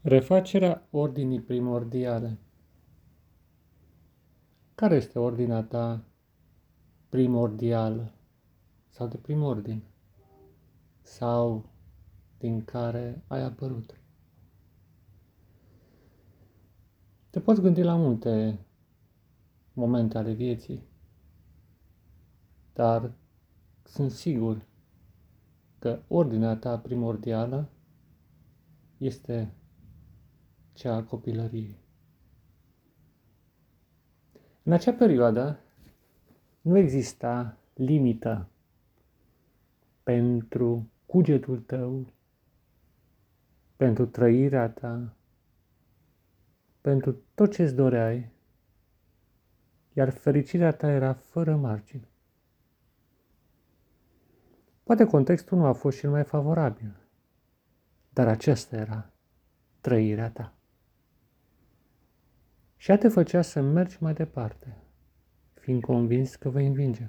Refacerea ordinii primordiale. Care este ordinea ta primordială sau de prim ordin sau din care ai apărut? Te poți gândi la multe momente ale vieții, dar sunt sigur că ordinea ta primordială este cea a copilăriei. În acea perioadă nu exista limită pentru cugetul tău, pentru trăirea ta, pentru tot ce-ți doreai, iar fericirea ta era fără margini. Poate contextul nu a fost cel mai favorabil, dar aceasta era trăirea ta. Și ea te făcea să mergi mai departe, fiind convins că vei învinge,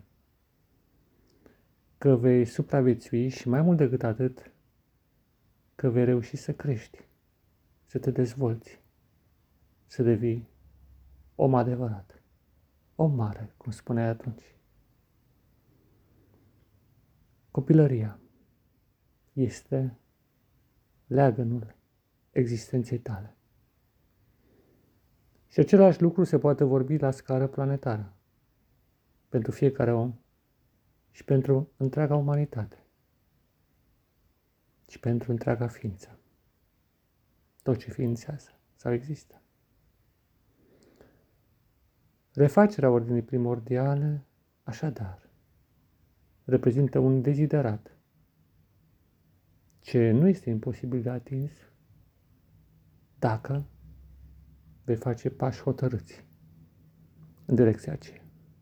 că vei supraviețui și mai mult decât atât, că vei reuși să crești, să te dezvolți, să devii om adevărat, om mare, cum spuneai atunci. Copilăria este leagănul existenței tale. Și același lucru se poate vorbi la scară planetară, pentru fiecare om și pentru întreaga umanitate și pentru întreaga ființă, tot ce ființează sau există. Refacerea ordinii primordiale, așadar, reprezintă un deziderat ce nu este imposibil de atins dacă vei face pași hotărâți în direcția aceea.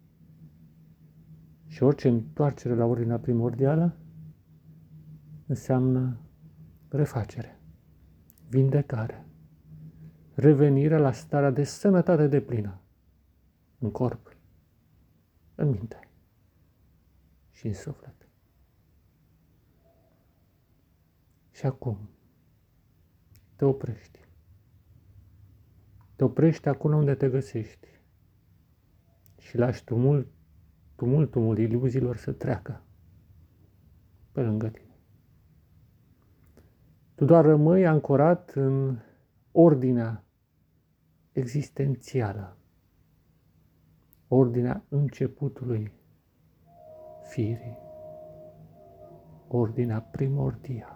Și orice întoarcere la ordinea primordială înseamnă refacere, vindecare, revenirea la starea de sănătate deplină în corp, în minte și în suflet. Și acum te oprești. Te oprești acolo unde te găsești și lași tumultul iluziilor să treacă pe lângă tine. Tu doar rămâi ancorat în ordinea existențială, ordinea începutului firii, ordinea primordială.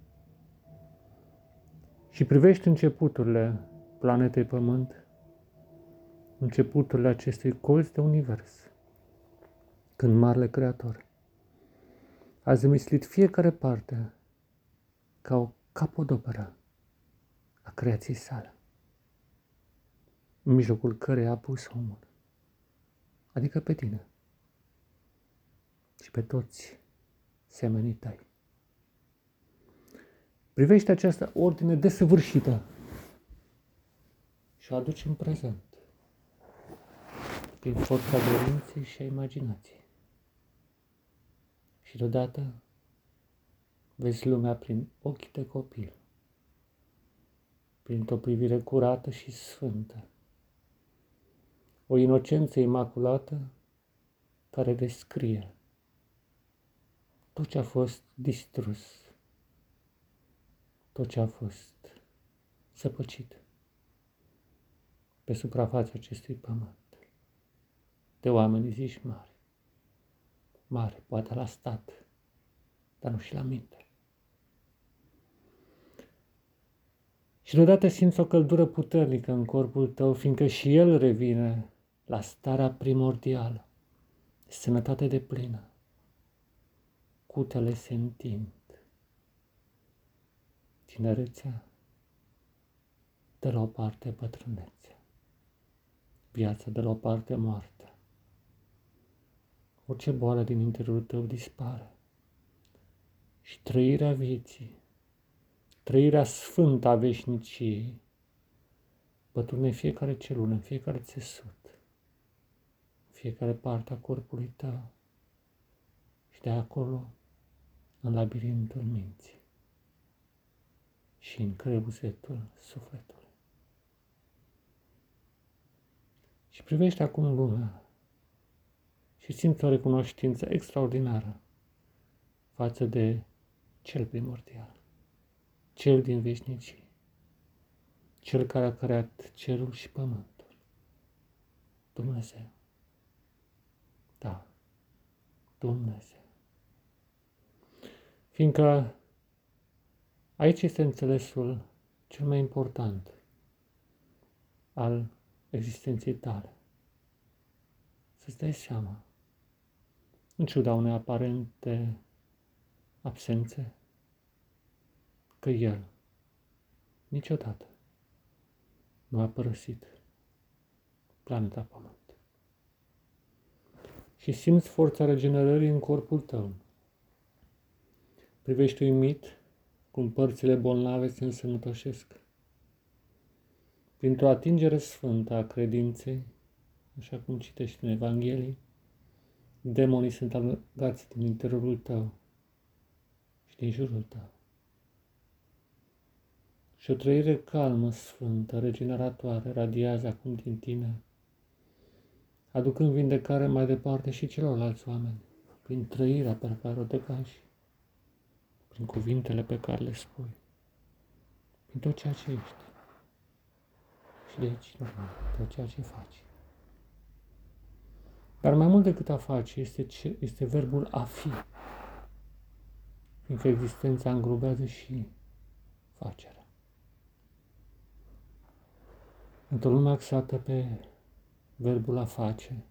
Și privești începuturile planetei Pământ, începuturile acestui colț de univers, când Marele Creator a zămislit fiecare parte ca o capodoperă a creației sale, în mijlocul căreia a pus omul, adică pe tine și pe toți semenii tăi. Privește această ordine desăvârșită și o aduci în prezent, prin forța dorinței și a imaginației. Și deodată vezi lumea prin ochii de copil, printr-o privire curată și sfântă, o inocență imaculată care descrie tot ce a fost distrus, tot ce a fost săpăcit pe suprafața acestui pământ, de oameni zici mari, mari poate la stat, dar nu și la minte. Și deodată simți o căldură puternică în corpul tău, fiindcă și el revine la starea primordială, de sănătate deplină. Cutele se întind. Tinerețea de la o parte bătrânețea. Viața de la o parte moartea. Orice boală din interiorul tău dispare. Și trăirea vieții, trăirea sfântă a veșniciei, bătrâne în fiecare celulă, în fiecare țesut, în fiecare parte a corpului tău și de acolo în labirintul minții. și în crăbuzetul sufletului. Și privește acum lumea și simți o recunoștință extraordinară față de cel primordial, cel din veșnicii, cel care a creat cerul și pământul, Dumnezeu. Da, Dumnezeu. Fiindcă aici este înțelesul cel mai important al existenței tale. Să-ți dai seama, în ciuda unei aparente absențe, că El niciodată nu a părăsit planeta Pământ. Și simți forța regenerării în corpul tău. Privești uimit cum părțile bolnave se însănătoșesc. Printr-o atingere sfântă a credinței, așa cum citești în Evanghelie, demonii sunt alungați din interiorul tău și din jurul tău. Și o trăire calmă, sfântă, regeneratoare radiază acum din tine, aducând vindecare mai departe și celorlalți oameni, prin trăirea pe care o degaji, prin cuvintele pe care le spui, prin tot ceea ce ești și de aici, normal, tot ceea ce faci. Dar mai mult decât a face este verbul a fi, fiindcă existența îngrubează și facerea. Într-o lume axată pe verbul a face,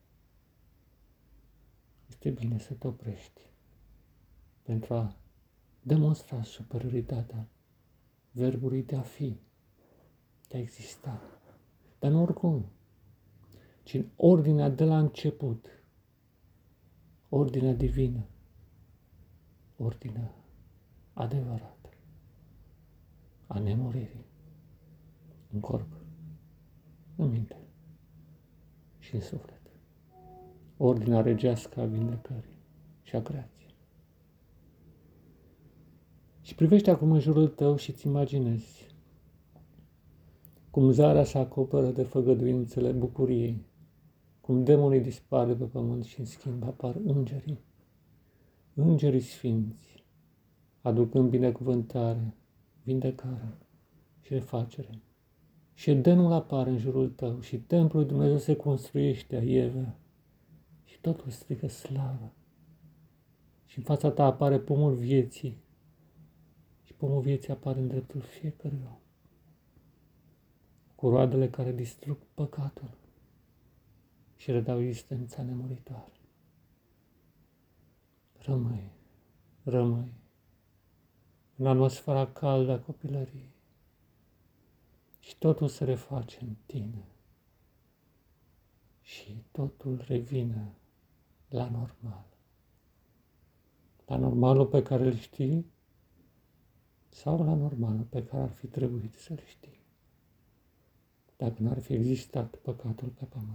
este bine să te oprești pentru a demonstra superioritatea verbului de a fi, de a exista, dar nu oricum, ci în ordinea de la început, ordinea divină, ordinea adevărată a nemuririi în corp, în minte și în suflet, ordinea regească a vindecării și a creației. Și privește acum în jurul tău și îți imaginezi cum zarea se acoperă de făgăduințele bucuriei, cum demonii dispar de pe pământ și în schimb apar îngerii sfinți, aducând binecuvântare, vindecare și refacere. Și Edenul apare în jurul tău și templul lui Dumnezeu se construiește a Eve și totul strigă slavă. Și în fața ta apare pomul vieții și pomul vieții apare în dreptul fiecărui om, cu roadele care distrug păcatul și redau existența nemuritoare. Rămâi în atmosfera caldă a copilăriei și totul se reface în tine și totul revine la normal. La normalul pe care îl știi sau la normalul pe care ar fi trebuit să-l știi, dacă n-ar fi existat păcatul pe pământ.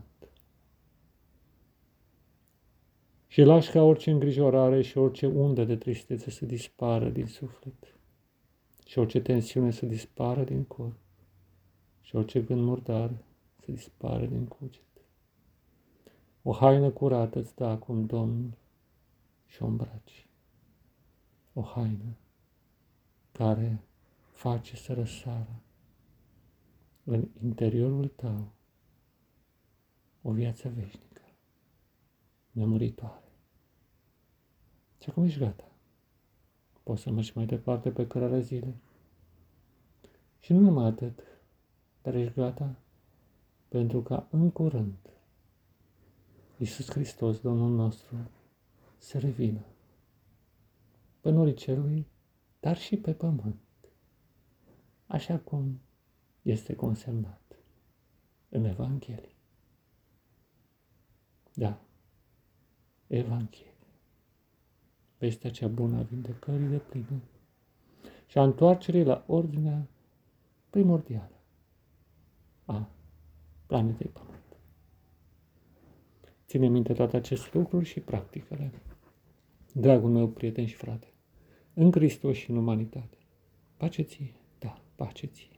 Și lași ca orice îngrijorare și orice undă de tristețe să dispară din suflet și orice tensiune să dispară din corp și orice gând murdar să dispară din cuget. O haină curată îți dă acum Domnul și o îmbraci. O haină care face să răsară în interiorul tău o viață veșnică, nemuritoare. Și acum ești gata. Poți să mergi mai departe pe cărarea zilei. Și nu numai atât, dar ești gata pentru ca în curând Iisus Hristos, Domnul nostru, să revină pe norii cerului, dar și pe pământ, așa cum este consemnat în Evanghelie. Da, Evanghelie. Vestea cea bună a vindecării de plină și a întoarcerii la ordinea primordială a planetei Pământ. Ține minte toate aceste lucruri și practică-le. Dragul meu prieten și frate, în Hristos și în umanitate. Pace ție, da. pace ție.